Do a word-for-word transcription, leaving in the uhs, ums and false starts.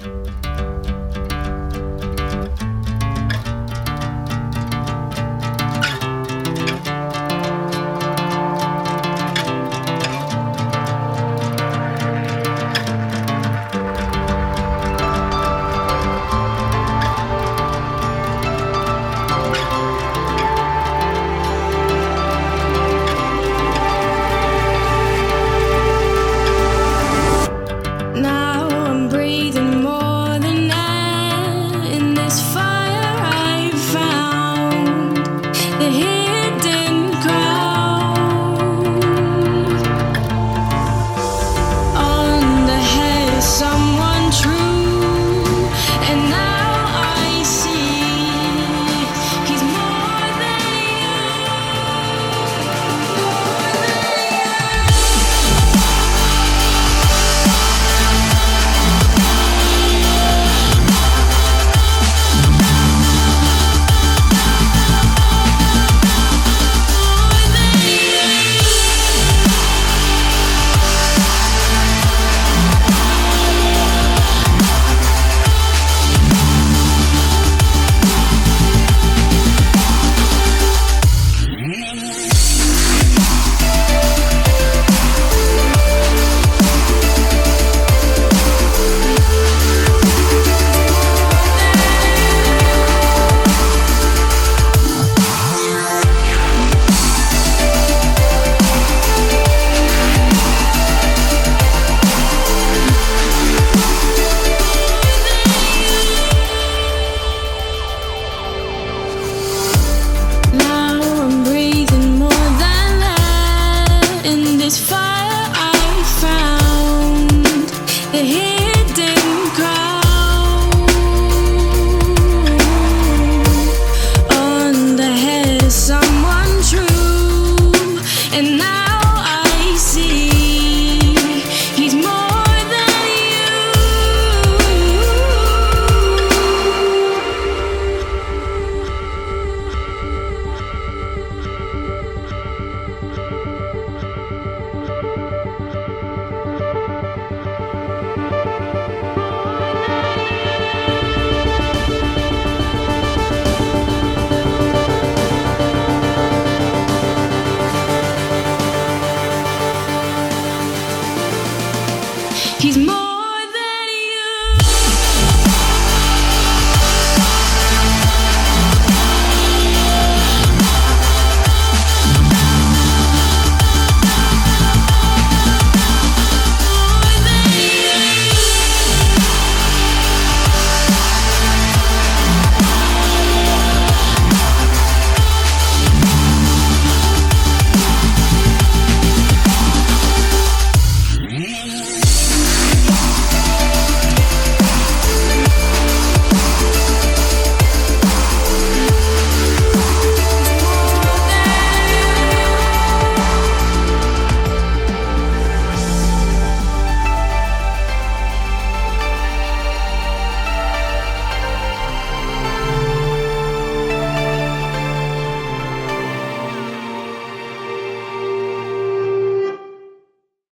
Now I'm breathing more than air in this fire I found, the hidden ground. On the head is someone true, and now I see he's more than you, more than you. This fire I found, the hidden ground. On the head is someone true, and now I see he's more than he's more